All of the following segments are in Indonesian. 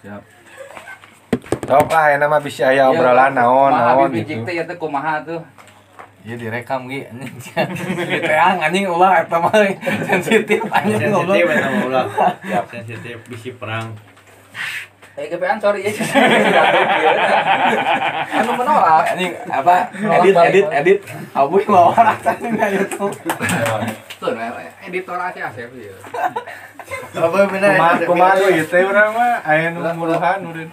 Siap. Sok lah ya nama bisa aya obrolan naon gitu. Teh teh kumaha tuh? Iya direkam ge anjing. Teang anjing ulah eta mah sensitif anjing ngobrol. Sensitif eta mah ulah. Siap sensitif bisi perang. GPN sorry ya. Anu menolak Anjing apa? Edit. Abuy mau rasanya na YouTube. Tuh editor aja Asep ya. Apa bener? kumaha ieu teh urang mah aya nu muruhan udah.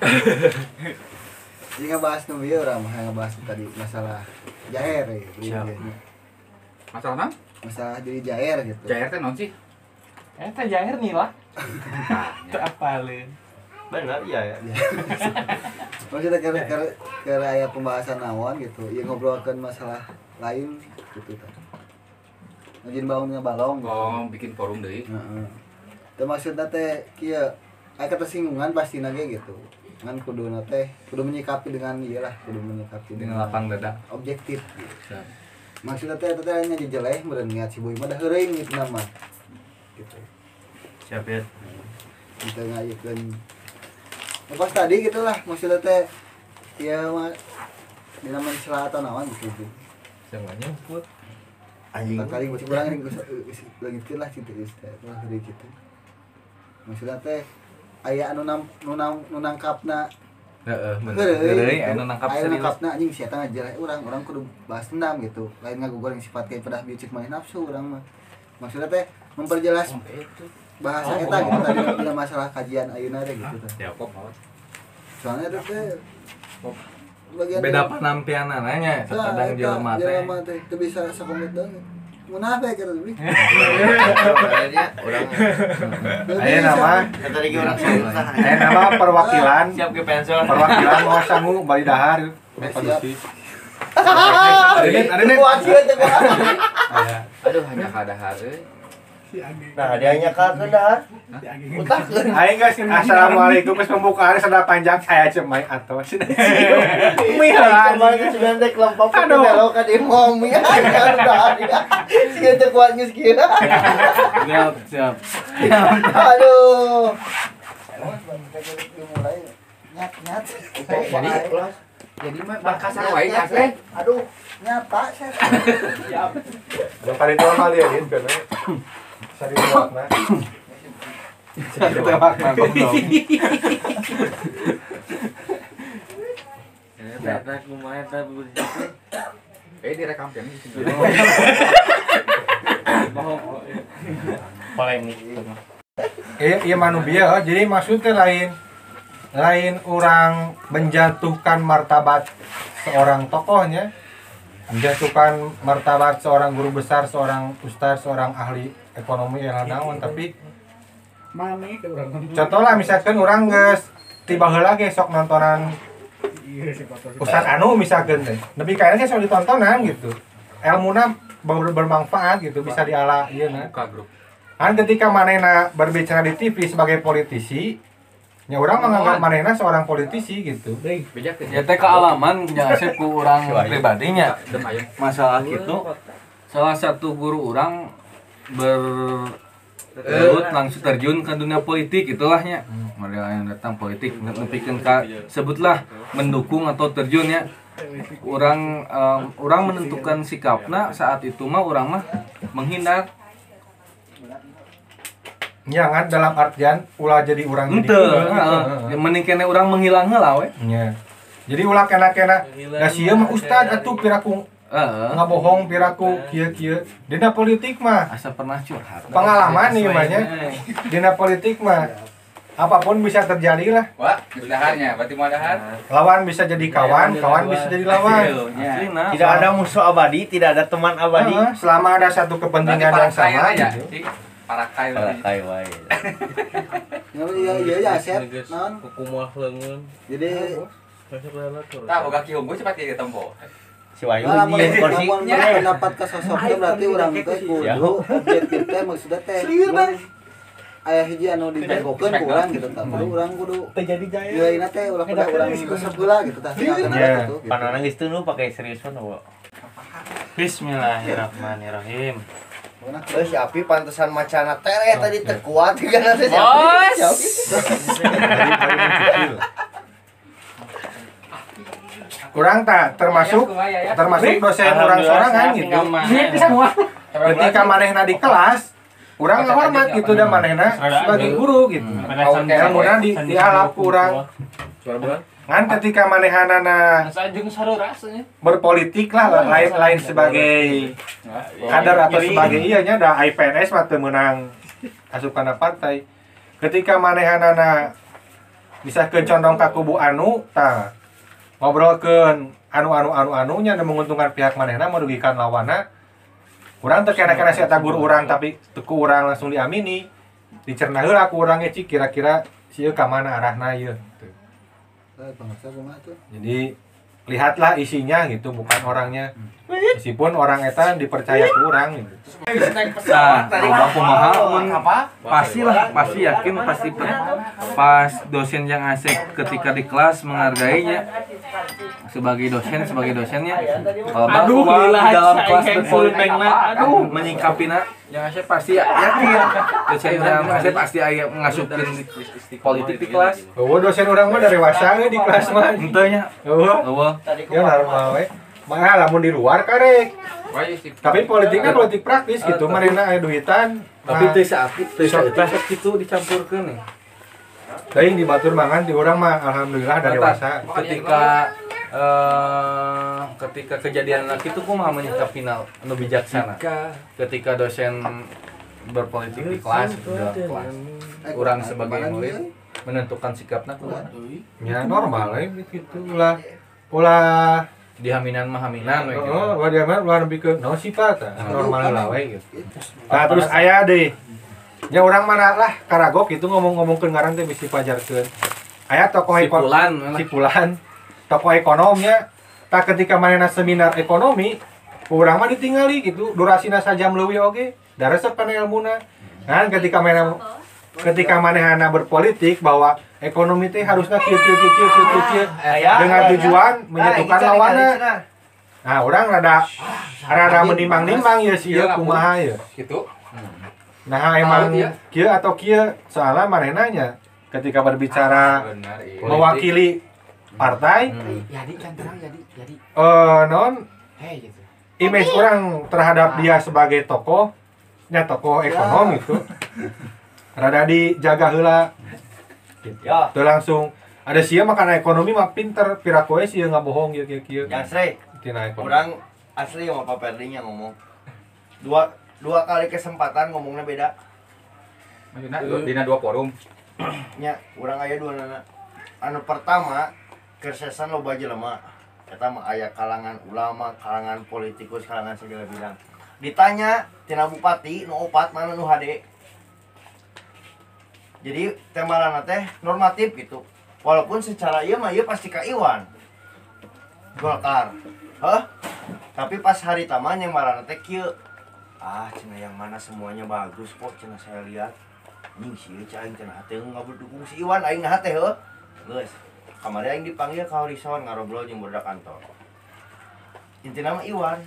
Jadi ngebahas nu ieu urang mah ngebahas tadi masalah jair ya. Masalah naon? Masalah jadi jair gitu. Jair teh naon sih? Eta jair nih lah. Teu apaleun. Bener iya ya. Maksudnya ke aya pembahasan naon gitu. Ya ngobrolkeun masalah lain gitu kan. Ngajin bangunnya balong. Oh, bikin forum deui. Heeh. Teh maksudna teh kieu aya kesinggungan pasti ge gitu. Kan kudu menyikapi dengan iyalah, kudu menyikapi Dengan lapang dada. objektif gitu. Maksudnya teh eta teh nya jejeleh meureun niat si boy mah da heureung gitu nama. Gitu. Siap ya. Kita ngayakeun pas tadi gitulah maksudnya teh ya mah dina mencela atau naon gitu. Jangan nyebut. Anjing kali masih kurang ini lagi lah gitu teh lah dari gitu. Maksudnya teh aya anu nangkapna Heeh, bener. Anu nangkap aya serius. nangkapna anjing sia teh ngajeleh urang kudu balas dendam gitu. Lain ngagugor yang sifat kayak pedah bicik main nafsu urang mah. Maksudnya teh memperjelas bahasa eta gitu tadi dalam masalah kajian ayeuna teh gitu teh. Siap kok. Soalnya eta teh bagian Beda penampianan nya kadang jelema teh. Jelema teh teu bisa sakomet banget. Munafik eta teh. Kayaknya urang Aya nama tadi ge urang susah. aya nama perwakilan Siap ge pensor. perwakilan mau sangu bari dahar padusi. Ada kuat sih eta kuat. Aduh hanya kadahar euy. Nah, dianya ka dahar. Utakeun. Aing geus assalamualaikum geus pembukaan sada panjang saya cemai atos. Mih lah. Kemarin sudah dek lempap ke belok ka di momi. Kan dahar. Si eta kuat geus kieu. Siap. Aduh. Nyat. Jadi mah kasar wae nya teh. Aduh, nyata saya. Yang paling normal ya gitu kan. Sari wakna. Satu wakna goblok. Eta kumaha eta Direkam kan di sini. polemik. Iya manubia jadi maksudnya lain orang menjatuhkan martabat seorang tokohnya, menjatuhkan martabat seorang guru besar, seorang ustaz, seorang ahli ekonomi yang naon, tapi contoh lah misalkan orang geus tiba heula ge sok nontonan Ustaz Anu misalkan teh. Tapi kayaknya sok ditontonan gitu. Ilmuna bermanfaat gitu, bisa diala ieu na. Buka grup. Kan ketika manehna berbicara di TV sebagai politisi, nya orang menganggap manehna seorang politisi gitu. Bejak teh. Ya teh kealaman nya Asep ku urang pribadinya. Masalah kitu salah satu guru urang langsung terjun ke dunia politik itulahnya. Mereka yang datang politik nepikeun ka sebutlah mendukung atau terjunnya. Orang menentukan sikapna saat itu mah orang mah menghindar. Jangan dalam artian ulah jadi orang jadi mending kene urang menghilang heula we. nya. Jadi ulah kena-kena da sieu mah ustad atuh piraku ngabohong piraku kieu-kieu. Dina politik mah Asa pernah curhat. pengalaman nih mah nya. Dina politik mah apapun bisa terjadi lah. Wah, daharnya, berarti mau dahar. Lawan bisa jadi kawan, kawan bisa jadi lawan. Tidak ada musuh abadi, tidak ada teman abadi. Selama ada satu kepentingan yang sama ya. gitu. Parakai wae. Iya Asep. Naon? Kumaha leungeun. Jadi Tah boga ki hungkul cepat ieu tempo. Si Wayu lamun nyieu kursinya. pendapat ka sosoknya berarti urang teh kudu objektif teh maksudnya teh. Aya hiji anu dijagokeun ku urang gitu tah. Urang kudu Terjadi jaya. nilainya teh ulah kudu urang resep heula gitu tah. Panana geus teu nu pake seriusan eueuh. Bismillahirrahmanirrahim. Si Api pantesan macana tere tadi terkuat kan ada si Bos. Api. Kurang tak termasuk dosen orang sorangan gitu. Ketika manehna di kelas, urang ngahormat gitu dan manehna sebagai guru gitu. Kemudian dialap kurang. Kan ketika manehanana berpolitik lah lain sebagai kader atau sebagai ianya da IPNS mah teu meunang asupana partai. Ketika manehanana bisa condong ka kubu anu tah ngobrolkeun anu-anunya dan menguntungkan pihak manehna merugikan lawanna. Urang teu kena-kena si eta guru urang tapi teu ku urang langsung diamini. Dicerna heula ku urang ge cik kira-kira sieu ka mana arahna ieu. Jadi lihatlah isinya gitu bukan orangnya. Meskipun orang eta dipercaya ke orang gitu. Nah, loba kumaha pasti yakin pas dosen yang asik ketika di kelas menghargainya sebagai dosennya di dalam kelas berpolitiknya menyikapinya yang asik pasti yakin dosen yang asik pasti aya ngasupkeun politik di kelas. Dosen orang mah dari wasa di kelas mah. Henteu nya. Ya normal we. Mah lamun di luar karek. Tapi politiknya politik praktis gitu, marina aya duitan. Tapi teu saeutik kitu dicampurkeun nih. Teuing di batur mangan di urang mah alhamdulillah dari dewasa. Ketika kejadian kitu kumaha menyikapina anu bijaksana. Ketika dosen berpolitik di kelas, urang sebagai murid menentukan sikapna kumaha. Ya normal gitu ulah dihaminan we gitu. Oh, dia mah ulah nepi ke naon sifat normal lah we gitu. Nah, terus aya deui. Nya urang mana lah karagok itu ngomong-ngomongkeun ngaran teh bisi pajarkeun. Aya tokoh sipulan tokoh ekonomnya tak ketika manehna seminar ekonomi urang mah ditinggali gitu durasina sajam leuwih oge da resep kana ilmuna. Nah, ketika manehna berpolitik bahwa ekonomi teh harusnya kieu dengan tujuan menyatukan lawanna. Nah, orang rada menimbang-nimbang ya sih kumaha ya. Gitu. Nah, emang kieu atau kieu soalnya manehna nya ketika berbicara mewakili partai. Jadi kan terang jadi. Non Gitu. image orang terhadap dia sebagai tokoh ekonomi itu rada dijaga heula. Gitu. Tuh langsung ada sia makan ekonomi mah pinter pirakoe sia nggak bohong ya kieu. Yang sre. Orang asli sama Pak Perdinya ngomong. Dua kali kesempatan ngomongnya beda. Dina dua forum. Nya, urang aya dua nana. Anu pertama, kersesan loba jelema. Eta mah aya kalangan ulama, kalangan politikus, kalangan segala bidang. Ditanya tina bupati nu opat mana nu hade. Jadi tembalana teh normatif gitu. Walaupun secara ieu mah ieu pasti ka Iwan. Golkar. Tapi pas hari taman yang marana teh kieu. Cenah yang mana semuanya bagus kok cenah saya lihat. Ning si aing cenah teh ngaberdukung si Iwan aing nah teh heuh. Geus. Kamari aing dipanggil ka Horizon ngarobrol jeung budak kantor. Intina mah Iwan.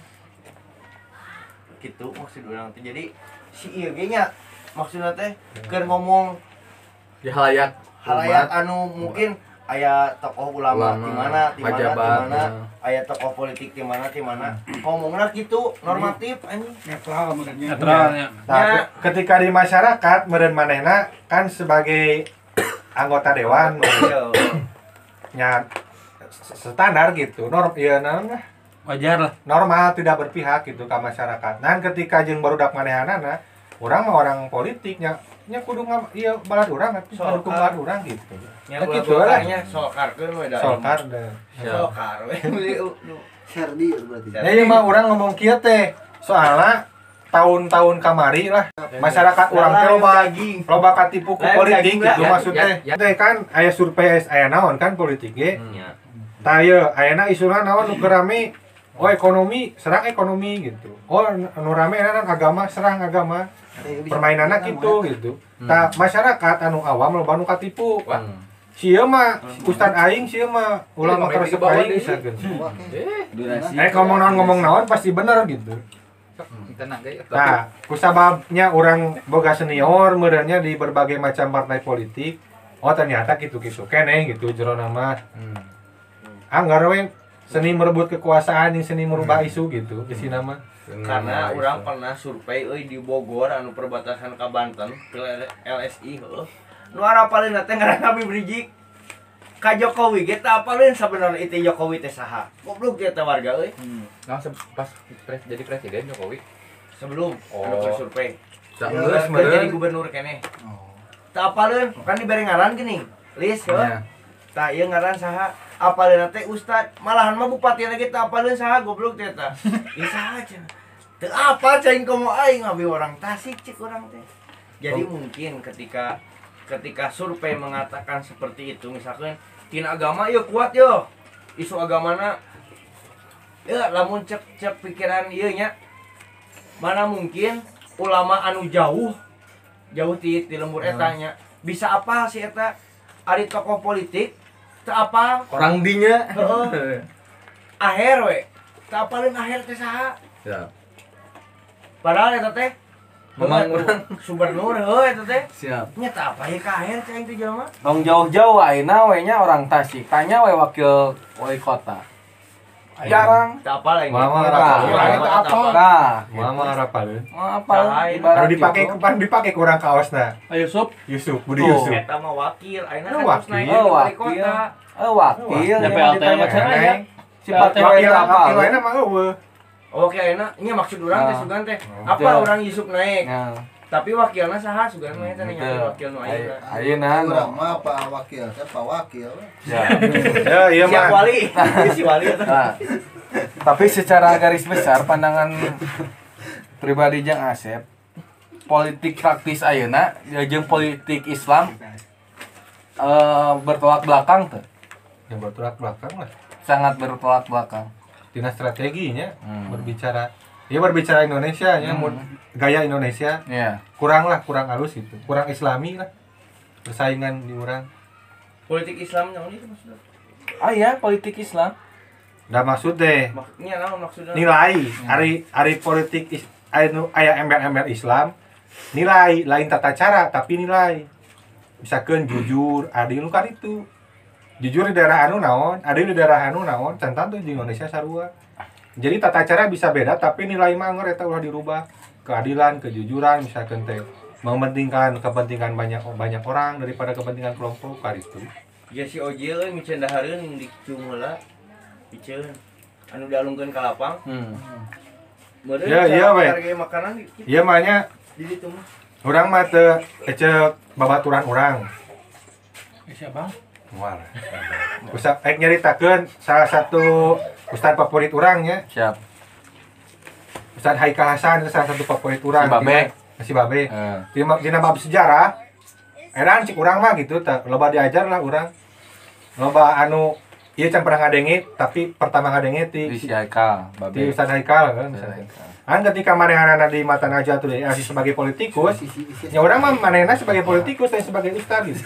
Gitu maksud urang teh. Jadi si ieu ge nya maksudna teh keur ngomong Di halayak anu mungkin aya tokoh ulama di mana aya tokoh politik di mana ngomongna gitu normatif anjing Netralnya. Nah, ketika di masyarakat meureun manehna kan sebagai anggota dewan nya standar gitu. wajar lah. Normal tidak berpihak gitu ke masyarakat. Nah, ketika jeung barudak manehanana urang mah orang politiknya kudu ieu balad urang atuh dukung balad urang gitu. Ya gitu lah nya sokarkeun we da. Sokar we. Serdi berarti. Ya ieu mah urang ngomong kieu teh soalna tahun-tahun kamari lah masyarakat urang teh loba katipu ku politik gitu maksudnya. Teh kan aya survei aya naon kan politik ge. Tah ieu ayeuna isuna naon nu rame ekonomi serang ekonomi gitu. Nu rame agama serang agama. Permainanna gitu. Tah masyarakat anu awam loba nu katipu. Sieu mah ustad aing sieu mah ulama karesep aing sakeun. Ngomong naon pasti bener gitu. Nah, kusababnya orang boga senior merenya di berbagai macam partai politik. Oh ternyata gitu-gitu keneh gitu jero nama. Anggar we seni merebut kekuasaan yang seni merubah isu gitu di sini nama. Karena orang pernah survei di Bogor anu perbatasan ka Banten ke LSI heuh. Nu arapaleun teh ngaranna Habib Rizik. Ka Jokowi ge teh apaleun sabenerna itu Jokowi teh saha. Goblok dia teh warga euy. Nah, pas jadi presiden Jokowi. Sebelum anu survei. Geus Jadi gubernur keneh. Teu apaleun kan dibere ngaran geuning. List heuh. Tah ieu ngaran saha? Apaleun teh ustad, malahan mah bupati lagi teu apaleun saha goblok teh tah. Ieu saha cenah. Teu apa cing komo aing abi orang Tasik cik urang teh. Jadi mungkin ketika survei mengatakan seperti itu misalkan tina agama yuk kuat yo. Isu agamana ya lamun cek pikiran ieu nya. Mana mungkin ulama anu jauh ti lembur eta nya bisa apa si eta ari tokoh politik teu apa orang dinya. heeh aher we teu apaleun aher teh saha Ya. padahal eta teh Memang urang gubernur heuh eta teh siap. nya teu apa ye ka aher teh teh jelema Dong jauh-jauh ayeuna we nya orang Tasik. Tanya we wakil wali kota. Jarang. teu apa lah ini Mama Nah, Mama harapaleun. mau apa? Baru dipakai kurang kaosna. Yusuf Yusuf, Budi Tuh. Yusuf. eta mah wakil ayeuna Oh, kan terus naik wakil. jadi wali Wakil. kota Wakil. Ya, PLT macam Ditanya. aja. Sifat Wakil apa? lainnya mah eueuh. oke ayeuna nya maksud urang teh sugan teh apa Betul. orang Yusuf naik Nah, tapi wakilna saha sugan mah eta nya betul. wakil nu ayeuna Ayeuna Urang mah Pak Wakil, saya Pak Wakil. Ya. Ya, iya siap mah. wali si wali eta Nah, tapi secara garis besar pandangan pribadi Jang Asep, politik praktis ayeuna jeung politik Islam bertolak belakang tuh. Yang bertolak belakang lah. Sangat bertolak belakang. Tina strateginya Hmm. berbicara Indonesia nya gaya Indonesia Iya. kurang halus gitu, kurang islami lah persaingan di orang. politik Islam naon itu maksudnya Ah ya, politik Islam. Udah maksud deh maksudnya naon maksudnya nilai hari politik aya embel-embel Islam nilai lain tata cara tapi nilai misalkan jujur adil kan itu jujur di daerah anu naon adil di daerah anu naon cantan tuh di Indonesia sarua jadi tata cara bisa beda tapi nilai mah eta ulah dirubah keadilan kejujuran misalkan teh mementingkan kepentingan banyak orang daripada kepentingan kelompok kali itu ya si Ojil euy micen dahareun di cung heula piceun anu dialungkeun ka lapang meureun Ya, iya, we. harga makanan iya mahnya di ditu mah urang mah teu ecek babaturan urang siapa? mual Ustaz nyaritakeun salah satu ustaz favorit urangnya Siap. Ustaz Haikal Hasan itu salah satu favorit urang Si Babe. si Babe Eh, dina bab sejarah edan cik urang mah gitu tak loba diajar lah urang loba anu ieu can pernah ngadenge tapi pertama ngadenge di ti si Haikal, ti Babe. Ustaz Haikal kan Si misalnya. Haikal. Kan ketika manehanana di mata Najwa tuh sebagai politikus ya urang mah manehna sebagai politikus dan sebagai ustaz gitu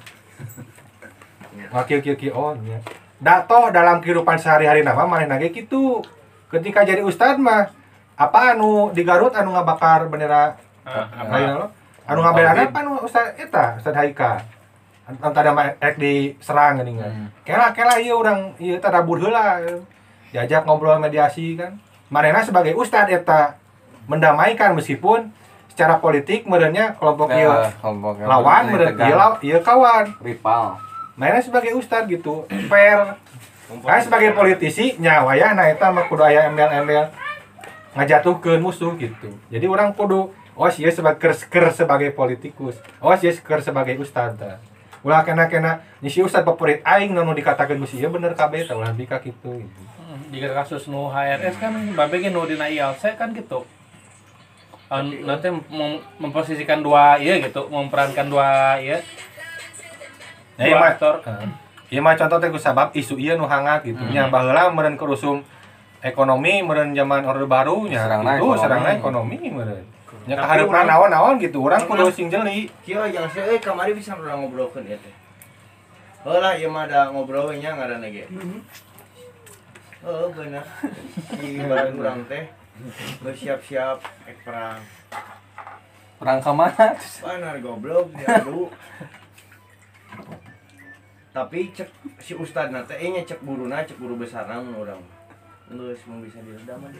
wakil oh nya datoh dalam kehidupan sehari-hari nama manehna ge kitu ketika jadi ustad mah apa anu di Garut anu ngabakar bendera apa anu ngabelana apa anu ustad eta Ustad Haika anu tadi mah rek diserang geuning kan kela ieu urang ieu teh rabur heula diajak ngobrol mediasi kan manehna sebagai ustad eta mendamaikan meskipun secara politik merenya kelompok ieu Kelompok yang lawan berdiri meureun tegang. ieu kawan Rival. mainnya sebagai ustad gitu fair kan sebagai politisi nyawa ya nah eta mah kudu aya embel-embel ngajatuhkeun musuh gitu jadi orang kudu oh sieun sebagai politikus oh sieun sebagai ustad tah ulah kena si ustad favorit aing nu dikatakeun ku ieu bener kabeh tah ulah bika kitu gitu. Di kasus nu HRS kan babe ge nu dina ILC kan gitu. Nanti memposisikan dua iya gitu, memperankan dua iya. Ya, Dua aktor. Ieu mah contoh teh ku sabab isu ieu nu hangat gitu nya baheula meureun kerusum ekonomi meureun zaman Orde Baru nya Serangna itu ekonomi. serangna ekonomi meureun nya kahareupan naon-naon gitu urang kudu sing jeli kieu jangan saya kamari bisa urang ngobrolkeun ieu teh heula ieu mah da ngobrol we nya ngaranna ge bener di bareng urang teh geus siap-siap ek perang Perang ka mana? panar goblok diadu tapi cek si ustad teh nya cek guruna cek guru besarna mun urang geus mun bisa diredam mah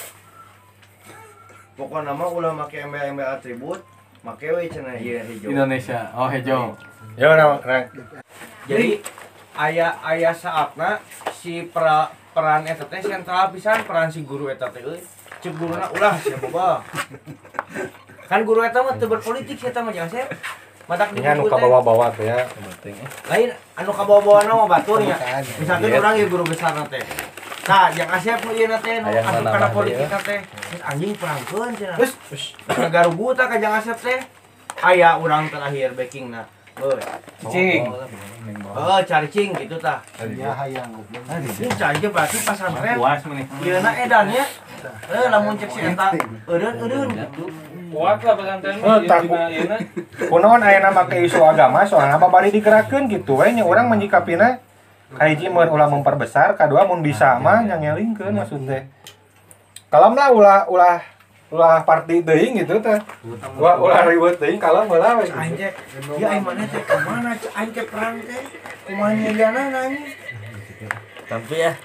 pokokna mah ulah make embel-embel atribut make we cenah ieu hejo Indonesia. Oh, hejo. Ya nah. jadi aya saatna si peran eta teh sentral pisan peran si guru eta teh euy cek guruna ulah sia boba kan guru eta mah teu berpolitik sia eta mah jeung Asep madak di Ini anu buku teh kabawa-bawa teh ya. lain anu kabawa-bawa mah baturnya misalkan orang ieu guru besar teh nah yang Asep nu ieu teh nu Aya asup mana kana mah politik ieu. teh anjing perangkeun cenah geus garugu tah ka Jang Asep teh aya urang terakhir backingna Cing. cari cing gitu tah Ya hayang goblok. ini canje berarti pasantren Puas meni. ieuna edannya lamun cek si eta eudeun gitu Kuat lah pesantren takut. ieu Kunaon aya nama ke isu agama soalnya bari digerakkeun gitu we nya urang menyikapina kahiji mun ulah memperbesar, kadua mun bisa mah nyangelingkeun maksud teh. Kalem lah ulah party teuing gitu teh. Ulah ribet teuing kalem heula we. aing teh ya aing mana teh ka mana aing teh perang teh kumaha nyegana anjing Tapi ya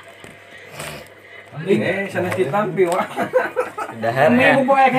Sana ditampi wah. dahan ya.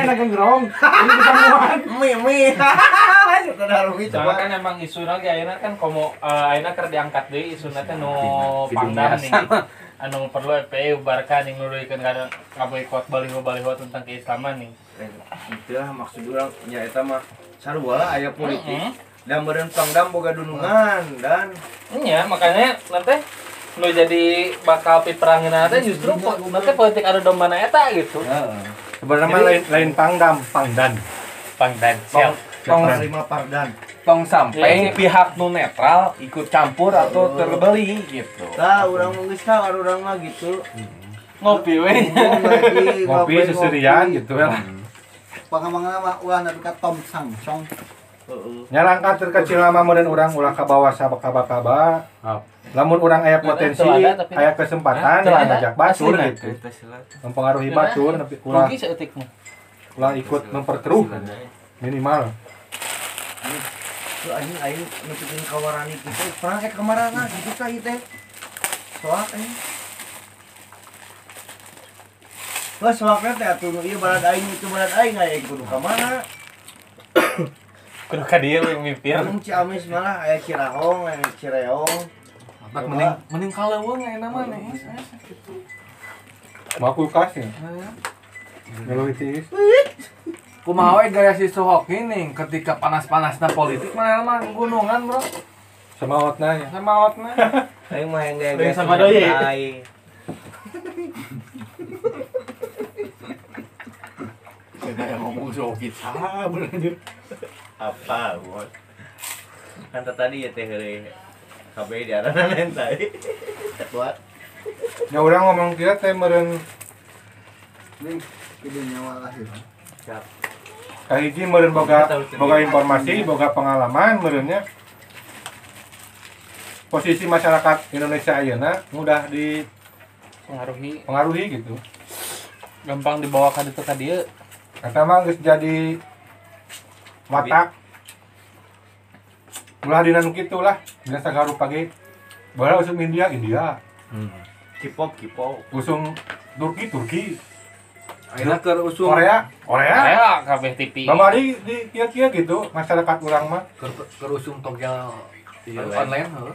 mi saudara mi Soalnya coba kan emang isu lagi ayeuna kan komo ayeuna keur diangkat deui isuna teh nu pangdam nih. Anu perlu FPI ubarkan yang nuluykeun kana ngaboikot baliho-baliho tentang keislaman nih. itulah maksud urang nya eta mah sarua aya politik dan meureun pangdam boga dunungan dan Iya, makanya nanti nu jadi bakal piperangeunna teh justru nanti politik adu dombana eta gitu. Sebenarnya mah lain pangdan. Pangdan siap. Tong terima pardan tong sampai pihak nu netral ikut campur atau terbeli gitu. tah urang mah geus ka urang mah gitu Ngopi we. Ngopi seserian gitu ya. Pangamangna mah ulah nepi ka Tom Sang Song. heeh Nya langkah terkecil lama meureun urang ulah ka bawah sabaka-baka. Lamun urang aya potensi, Itu ada, tapi- aya kesempatan Hah? lah Ada? ngajak batur Asli, gitu. Mempengaruhi batur tapi ulah Rugi seeutik mah. ikut memperkeruh minimal. tuh anjing aing nepikeun kawarani kitu perang kamarana gitu tah ieu teh soak anjing Wah, soaknya teh atuh nu ieu balad aing itu balad aing aya kudu ka mana? Kudu ka dieu we mimpir. Lamun Ciamis malah aya Cirahong, aya Cireong. Tak mending kaleuweung aya nama nih. Mau kulkas ya. Ngeluh tiis. Kumaha we gaya si Sohok ini ketika panas-panasna politik mana mah gunungan, Bro. Semaotna ya. Samaotna. Aing mah yang Aing gaya sama doi. aing. Kayak ngomong Sohok bener. Apa, Bos? Kan tadi ya teh heureuy. KB di arana nentai. Buat Ya urang ngomong kieu teh meureun Ning kieu nyawa lahir. kahiji meureun boga informasi, boga pengalaman meureunnya. Posisi masyarakat Indonesia ayeuna mudah Pengaruhi gitu. gampang dibawa ka ditu ka dieu. Eta mah geus jadi watak. Ulah dina nu kitu lah, dina sagaru pagi. Baheula usum India. K-pop. Usum Turki. Ayeuna keur usum Korea. Aya kabeh TV. Bamari di kieu-kieu gitu masyarakat urang mah. keur usum togel online heuh.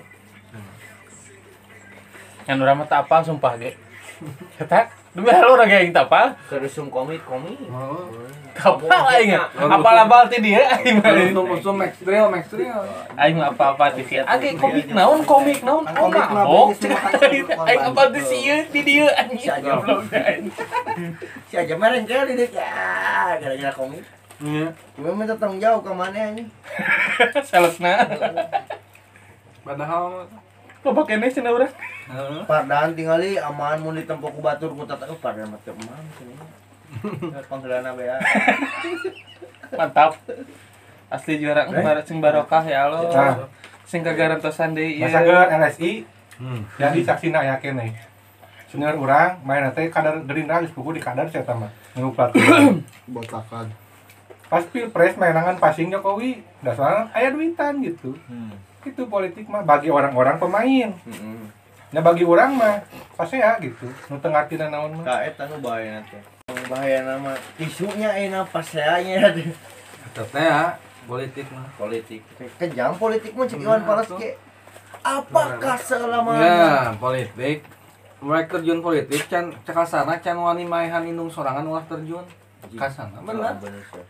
Yang urang mah teu apal sumpah ge. Eta demi halo urang ge aing teu apal. Kerusum komik. Kapal aing. Apal-apal ti dieu aing mah. Usum Max Drill. Aing mah apa-apa ti sieu. Age komik naon? Komik mah Oh, beuki semua kan aing apa ti sieu ti dieu anjing. Si Aja. Goblok aing. Si aja meren kali didik ya gara-gara komik. Iya. Gue minta tanggung jawab ke mana ini? Salesna. Padahal Loba keneh cenah urang. Pardan tinggali aman mun ditempo ku batur ku tata pardan mah teu emang sini. Panggeulana bea. Mantap. Asli juara sing barokah ya Allah. Nah. Sing kagarantosan deui ieu. Masageun LSI. Jadi saksina yakin nih. Senior urang main teh kadar Gerindra geus pugu di kadar saya mah. Nu pelatihan. Botakan. Pas Pilpres mainangan passing Jokowi, dasarnya aya duitan gitu. Itu politik mah bagi orang-orang pemain. Heeh. Nah bagi orang mah pasea gitu. Nu teu ngartina naon mah. Ka eta nu bahaya teh. Bahaya nama tisunya enak paseanya teh. Teteh ya politik mah. Politik. Kejam politik mah cek Iwan Fals ge. Apakah selama Ya, politik. Mereka terjun politik can cekasana can wani maehan indung sorangan ulah terjun. Kasana bener. Bener sih.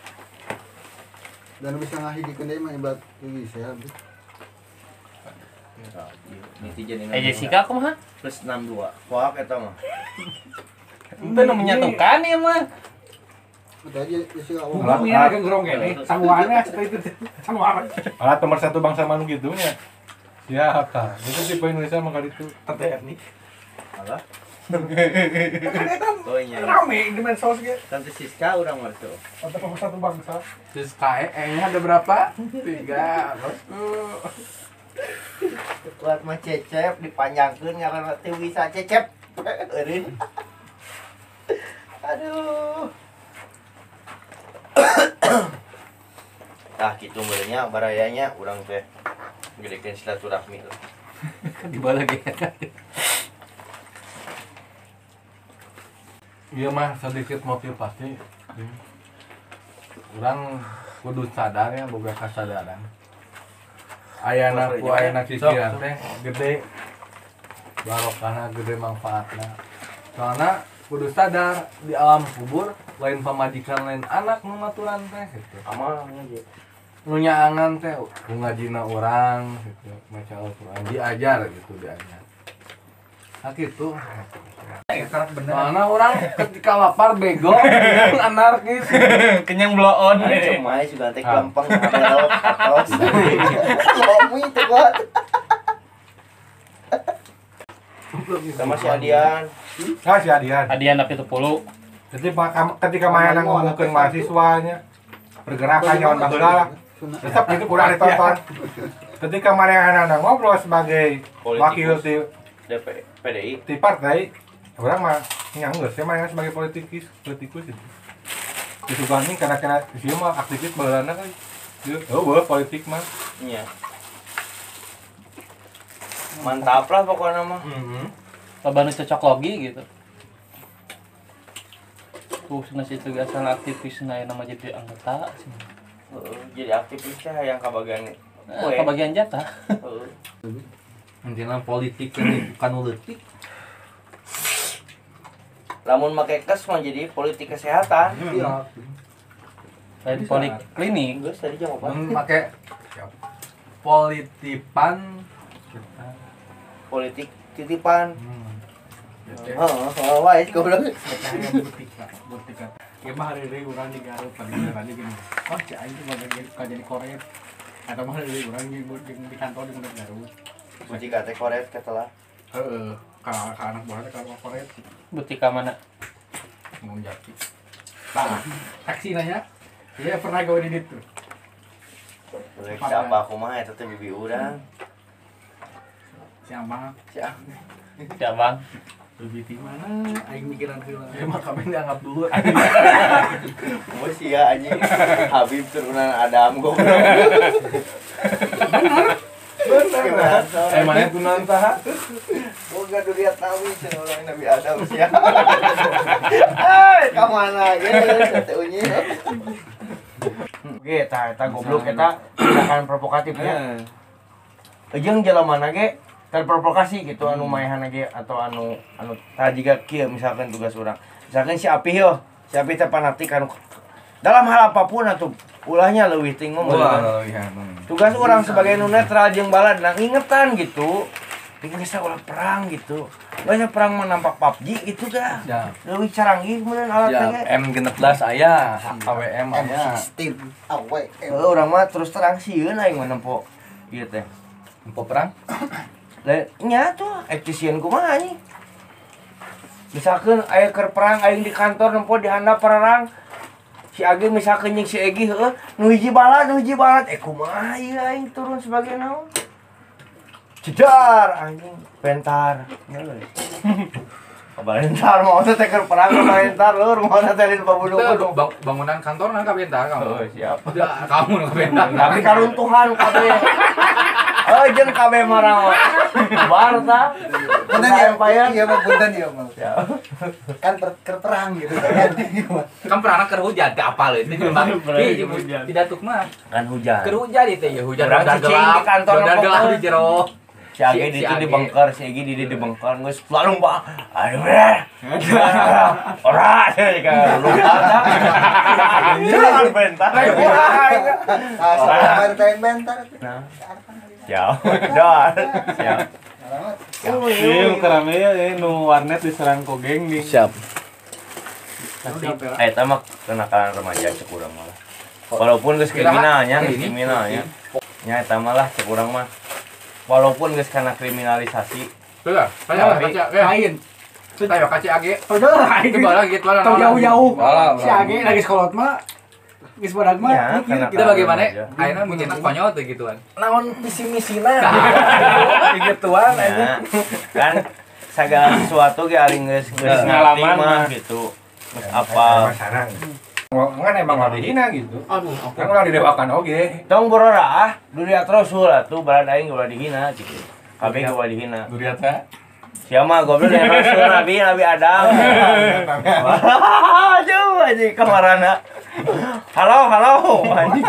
Dan bisa ngahidikeun deui mah ibarat bisa habis. Netizen ini. Jessica kumaha? Plus 62. Kuak eta mah. Itu nu menyatukan ya mah. Udah aja sih enggak Alat nomor 1 bangsa manu gitu nya. Siap tah. Itu si Indonesia mah kali itu. Alah. Oh iya. Rame di medsos ge. Tante Siska urang masuk. Alat nomor 1 bangsa. Terus KE-nya ada berapa? 3. Kuat mah cecep dipanjangkeun ngaranna teu bisa cecep. Eureun. Aduh. Tah kitu beulenya barayanya urang teh gedekeun silaturahmi. Di bawah lagi. Iya mah sedikit motivasi. Urang kudu sadar ya boga kasadaran. Ayana ku ayana cicilan teh gede. Barokahna gede manfaatna. Soalna kudu sadar di alam kubur lain pamajikan lain anak nu maturan teh gitu. Amal aja. Nu nyaangan teh ku ngajina urang gitu. Maca Al-Qur'an diajar gitu diajar. Nah gitu. Soalna urang ketika lapar bego anarkis. Kenyang bloon. Cemai juga teh gampang ngelok atos. Lomi itu kuat. Sama si Adian. Ah si Adian. Hadiah tapi 10. Jadi ketika mainan ngomongkeun mahasiswanya pergerakan nyawan baheula lah. Tetap itu kurang ditonton. Ketika mana ngobrol sebagai wakil di PDI. partai, orang mah nyanggeus ya mana sebagai politikus itu. Disugani karena dia mah aktivis baheulana kan. Oh, boleh politik mah. Iya. Mantap lah pokoknya mah. Loba nu cocok logi gitu. Cenah situ ge asal aktivisna aya nama jadi anggota. Jadi aktivisnya yang kebagian Kebagian jatah. Intinya politik kan bukan uletik. Lamun make kes mah jadi politik kesehatan. Iya. Lain poliklinik. Geus tadi jam apa? Make politipan Politik titipan. Heeh, wae goblok. Ya mah hari ini orang di Garut tadi gini. Oh, si aing tuh jadi koret. Atau mah hari orang di kantor di Garut. Muji kate koret ketelah. Heeh, ka anak buahnya kalau koret Butika mana? mau jaki. Nah, taksi nanya. Iya pernah gawe di ditu. Rek siapa kumaha eta teh bibi urang. Siapa? Siapa? Ya bang. Lebih di mana? Aing mikiran heula. ya mah kami dianggap dulu. Bos ya anjing. Habib turunan Adam goblok. Benar. Mana tunan saha? Boga duriat nabi cenah urang Nabi Adam sia. Ka mana ge teh unyi. Ge eta goblok eta tindakan provokatifnya. Jeung jelemana ge terprovokasi gitu anu maehan ge atau anu tadi juga kieu misalkan tugas urang. Misalkan si Api yo, si Api teh fanatik anu dalam hal apapun atuh ulahnya leuwih ting ngomong. Tugas orang sebagai nu netral jeung balad nang ingetan gitu. Bikin geus ulah perang gitu. Banyak perang mah nampak PUBG gitu dah. Ya. Leuwih canggih meureun alat Ya, teh. M16 aya, AWM aya. M16 awe. Urang mah terus terang sieun aing mah nempo ieu teh. Empo perang? Lah nya tuh efisien kumaha anjing. Misalkan aya keur perang aing di kantor nempo di handap perang. Si Agi misalkan jeung si Egi heueuh nu hiji balad kumaha ieu aing turun sebagai naon? Jedar anjing pentar. Kabarentar mau teh keur perang kabarentar lur mau teh di pabuduk. Bangunan kantor nang kabentar kamu. Oh, siap. Kamu nang kabentar. Tapi karuntuhan kabeh. jeung kabeh marah. Bar tah. Punten ya, iya mah punten ya mah. Kan perang gitu kan. Kan pernah keur hujan teh apal itu memang. Tidak tuk mah. Kan hujan. Keur hujan itu ya hujan Urang udah cicing di kantor udah gelap pokoknya. di jero. Si Age di itu dibengkar, si Age di dibengkar, geus lalu Pak. Aduh ora kan lupa dah. Jangan bentar. Asal main bentar. Nah. Siap. Dah. Siap. Ieu kerame nu warnet diserang ku geng nih. Siap. Eta mah kenakalan remaja cek urang malah. Walaupun geus kriminalnya, kriminalnya. Nya eta mah lah cek urang mah. Walaupun geus kana kriminalisasi. Tuh, kaca lain. Tayo kaca age. Itu bala gitu lah. Tong jauh-jauh. Si Age lagi sekolot mah geus badag mah. Kita bagaimana? Ayeuna mikirna konyol teh gituan. Naon misi-misina. Gituan aja. Kan segala sesuatu ge ari geus ngalami mah gitu. Geus apa? Kan emang lah dihina gitu. Kan ulah didewakan oge. Tong borora dunia Rasul atuh balan aing ulah dihina gitu. Kabeh ge ulah dihina. Duria teh. Sia mah goblok dari Rasul Nabi Adam. Jauh aja kamarana. Halo anjing.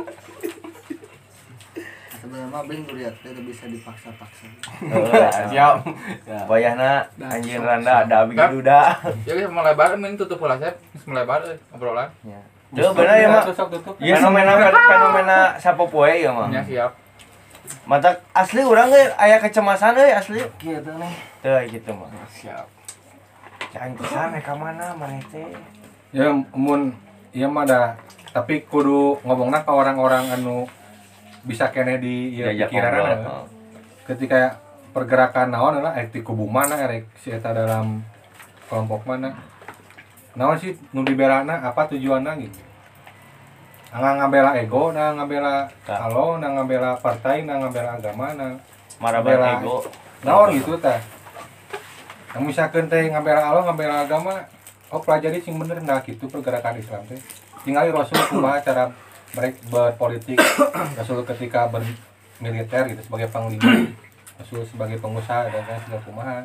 Sebenarnya mah bing lihat itu bisa dipaksa-paksa. Siap. Bayahna anjing randa ada abi duda. Ya geus melebar mending tutup ulah Sep. Geus melebar obrolan. Tuh bener ya mah. Tutup. Fenomena sapopoe ya mah. Ya siap. Mata asli urang ge aya kecemasan euy asli. Kieu teh nih. Teu gitu mah. Siap. Jangan kesana ka mana maneh teh. Ya mun ieu mah dah tapi kudu ngomongna ka orang-orang anu bisa kene di ieu pikiranna. Ketika pergerakan naon lah ti kubu mana erek si eta dalam kelompok mana. Naon sih nu dibelana apa tujuanna gitu. Ngabela ego, ngabela kalau, ngabela partai, ngabela agama, marabela ego. Naon gitu tah. Namun misalkan teh ngabela Allah, ngabela agama, pelajari sing bener nah gitu pergerakan Islam teh. Tinggali Rasul kumaha cara mereka berpolitik, Rasul ketika bermiliter gitu sebagai panglima, Rasul sebagai pengusaha dan segala kumaha.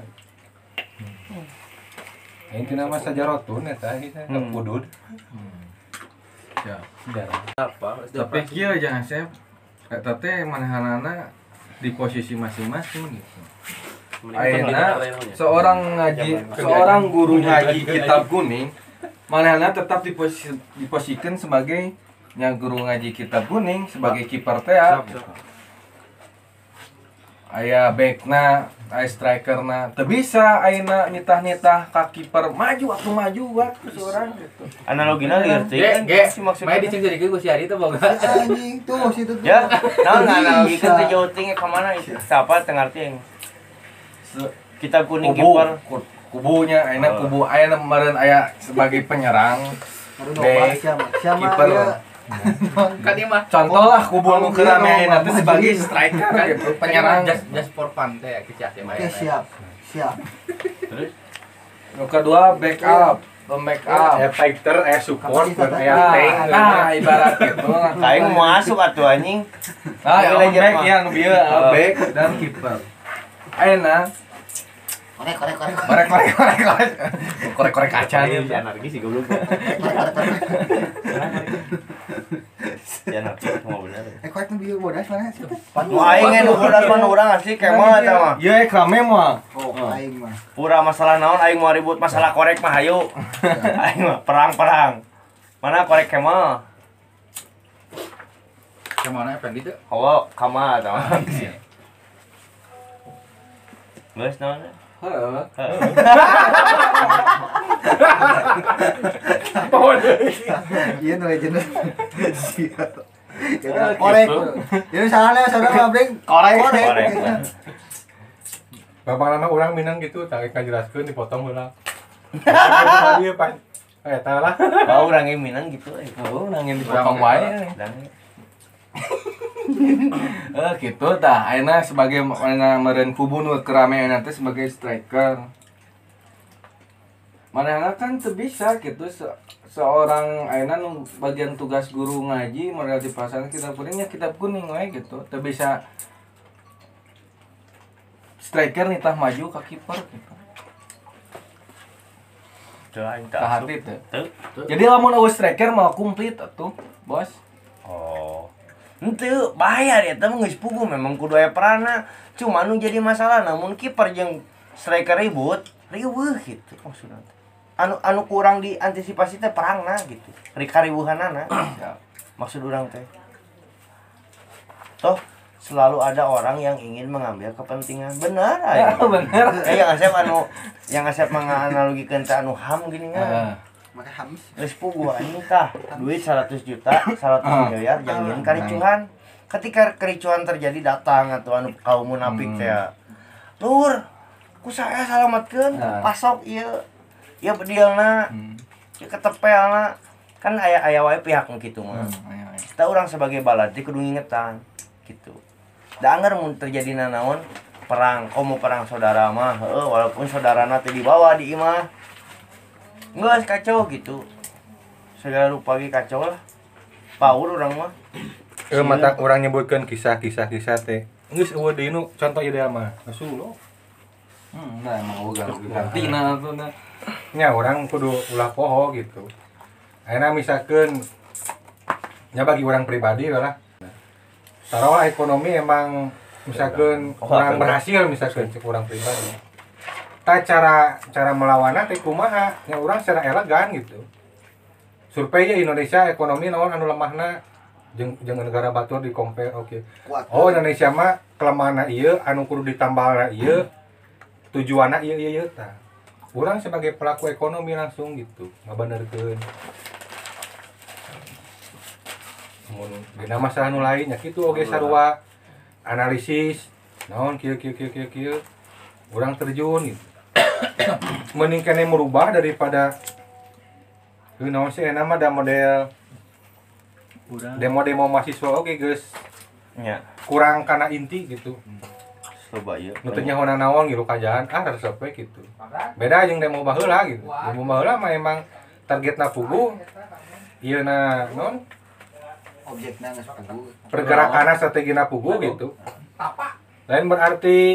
Intina mah sajarotun eta kita kudud. Ya. Apa? Tapi kieu jangan Sep. Eta teh manahanana di posisi masing-masing gitu. Ayeuna seorang guru ngaji kitab kuning manehna tetap diposisikan sebagai guru ngaji kitab kuning sebagai kiper teh. Aya backna, aya strikerna, teu bisa ayeuna nitah-nitah ka kiper maju atuh maju buat seorang gitu. Analogina lieur teh kan si maksudnya main dicengcerikeun ku si Ari teh boga. Anjing tuh situ tuh. Ya, naon analogikeun teh jauting ka mana itu? Siapa teu ngarti aing. Kitab kuning kiper Kubunya ayeuna kubu ayeuna meureun aya sebagai penyerang. Kiper. Kan ieu mah Contoh lah kubu nu keur rame ayeuna teh sebagai striker gitu, penyerang. just for fun teh kieu atuh mah. Oke, siap. Terus nu kedua backup, pembackup. Fighter, support, Kapasitas tank. Nah, ibarat gitu lah. aing mau masuk atuh anjing. Nah, back yang bieu back dan kiper. Ayeuna korek kaca nih. Anarki sih goblok. Ya nanti mau bener. Korek nu bieu bodas mana sih? Mau aing nu bodas mah urang asli kemah eta mah. Ieu rame mah. Oh, aing mah. Pura masalah naon aing mau ribut masalah korek mah hayu. Aing mah perang. Mana korek kemah? Kemana Effendi teh? Hawa kama eta mah. Geus naon? Heeh. Iya nu legend. Siap. Korek. Jadi salahnya saudara mabring korek. Bapak anak orang Minang gitu, tak ngajelaskeun dipotong heula. Ieu pas eta lah. Bau urang ge Minang gitu euy. Oh, nangin dipotong wae. Gitu tah ayeuna sebagai meureun kubu nu keramean teh sebagai striker. Manehna kan teu bisa gitu seorang ayeuna nu bagian tugas guru ngaji model dipasang kitab kuning we gitu. Teu bisa striker nih tah maju ke kiper gitu. Teu aing teu Tah asup. hati teu. Jadi lamun eueuh striker mah komplit atuh, Bos. Oh. Henteu bahaya eta mah geus puguh memang kudu aya peranna. Cuma nu jadi masalah namun kiper jeung striker ribut, riweuh gitu maksudna. Anu kurang diantisipasi teh perangna gitu. Kariweuhanana. Maksud urang teh. Toh selalu ada orang yang ingin mengambil kepentingan. Benar aya. Bener. Yang asep menganalogikeun teh anu ham gini nya. Maka hamis. Geus puguh anjing tah. Duit 100 juta, 100 miliar jangan kericuhan. Ketika kericuhan terjadi datang atau anu kaum munafik teh. Lur, ku saya salametkeun pasok ieu. Ieu bedielna. Ieu ketepelna. Kan aya wae pihak kitu mah. Kita orang sebagai baladi kudu ngingetan gitu. Da anggar mun terjadi nanaon perang, komo perang saudara mah, walaupun saudarana teh dibawa di imah. Geus kacau gitu. Segala rupa ge kacau lah. Paur urang mah. Mata orang nyebutkeun kisah-kisah teh. Geus eueuh deui nu contoh ideal mah. Rasulullah. Nah emang gantina tuh nah. Nya orang kudu ulah poho gitu. Ayeuna misalkeun nya bagi orang pribadi lah. Taruhlah ekonomi emang misalkeun kurang berhasil misalkeun cek orang pribadi. Ta cara melawanna teh kumaha? Nya urang secara elegan gitu. Survei Indonesia ekonomi naon anu lemahna jeung negara batur di compare oke. Oh Indonesia mah kelemahanna ieu anu kudu ditambalna ieu tujuanna ieu tah. Urang sebagai pelaku ekonomi langsung gitu ngabenerkeun. Mun dina masalah nu lain nya kitu oge sarua analisis naon kieu urang terjun gitu. Mending kene merubah daripada naon sih enak mah da model demo mahasiswa oge geus Nya, kurang kana inti gitu. coba ieu. Nu teh nyaho naon gitu kajaan resep we gitu. Beda jeung demo baheula gitu. Demo baheula mah emang targetna puguh. Ieu na naon? Objeknya geus puguh. Pergerakanna strategina puguh gitu. Lain berarti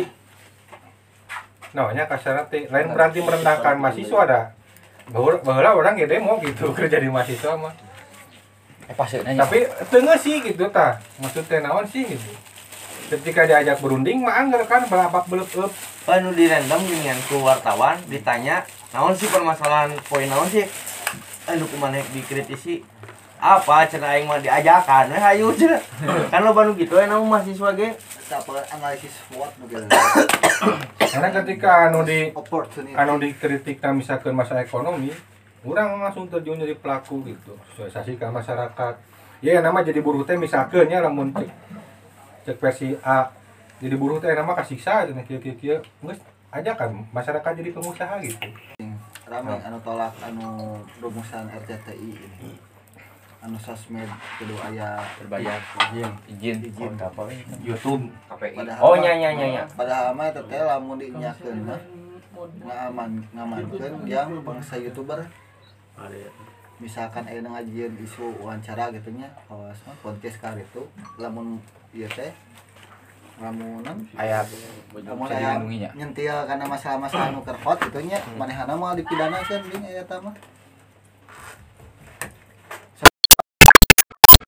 nya kasarna teh lain berarti merendahkan mahasiswa da. Baheula orang ge demo gitu kerja di mahasiswa mah. Tapi tengah sih gitu tah. Maksudnya naon sih gitu. Ketika diajak berunding mah anggar kan balabak beleup-eup. Anu di random ginian ku wartawan ditanya, naon sih permasalahan poin naon sih? Anu kumaneh dikritisi. Apa cenah aing mah diajakan we hayu cenah. Kan loba nu kitu aya naon mahasiswa ge. Apa analisis SWOT mungkin. Karena ketika anu Opportunity. dikritik misalkan masalah ekonomi, orang langsung terjun jadi pelaku gitu, sosialisasi ke masyarakat. Ya nama jadi buruh teh misalkan ya lamun cek versi A, jadi buruh teh nama kasiksa cenah kieu-kieu, geus ajakan masyarakat jadi pengusaha gitu. Rame anu tolak anu rumusan RCTI ini. Anu sosmed kudu aya Berbayar izin apa YouTube KPI. Oh nya. Padahal mah teteh lamun dinyakeun mah ngamankeun yang bangsa YouTuber. Misalkan aya ngajieun isu wawancara gitu nya, awas mah podcast ka itu lamun ieu teh lamun aya nyentil karena masalah-masalah anu keur hot gitu nya manehna mah dipidanakeun ding eta mah.